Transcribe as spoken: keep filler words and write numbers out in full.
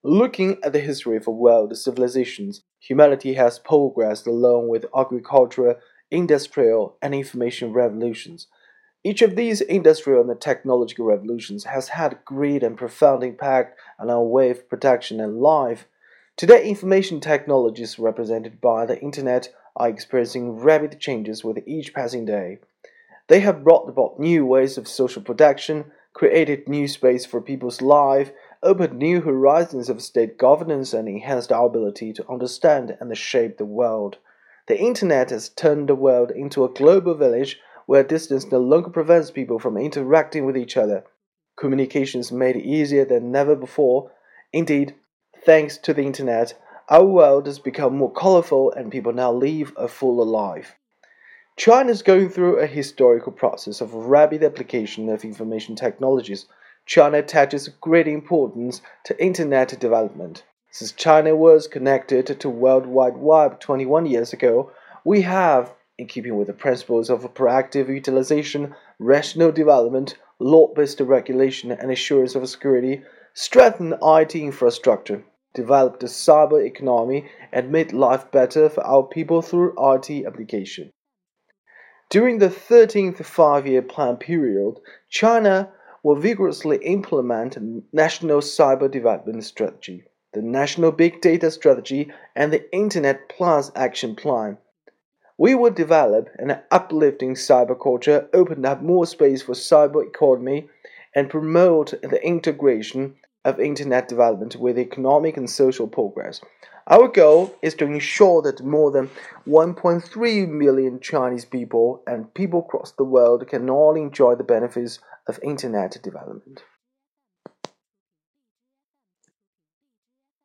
Looking at the history of world civilizations, humanity has progressed along with agricultural, industrial, and information revolutions. Each of these industrial and technological revolutions has had great and profound impact on our way of production and life. Today, information technologies represented by the Internet are experiencing rapid changes with each passing day. They have brought about new ways of social production, created new space for people's life, opened new horizons of state governance, and enhanced our ability to understand and shape the world. The Internet has turned the world into a global village where distance no longer prevents people from interacting with each other. Communication is made easier than never before. Indeed, thanks to the Internet, our world has become more colorful and people now live a fuller life. China is going through a historical process of rapid application of information technologies. China attaches great importance to Internet development. Since China was connected to World Wide Web twenty-one years ago, we have, in keeping with the principles of proactive utilization, rational development, law-based regulation, and assurance of security, strengthened I T infrastructure, developed a cyber economy, and made life better for our people through I T application. During the thirteenth Five-Year Plan period, China will vigorously implement a National Cyber Development Strategy, the National Big Data Strategy, and the Internet Plus Action Plan. We will develop an uplifting cyber culture, open up more space for cyber economy, and promote the integration of Internet development with economic and social progress. Our goal is to ensure that more than one point three million Chinese people and people across the world can all enjoy the benefits of Internet development.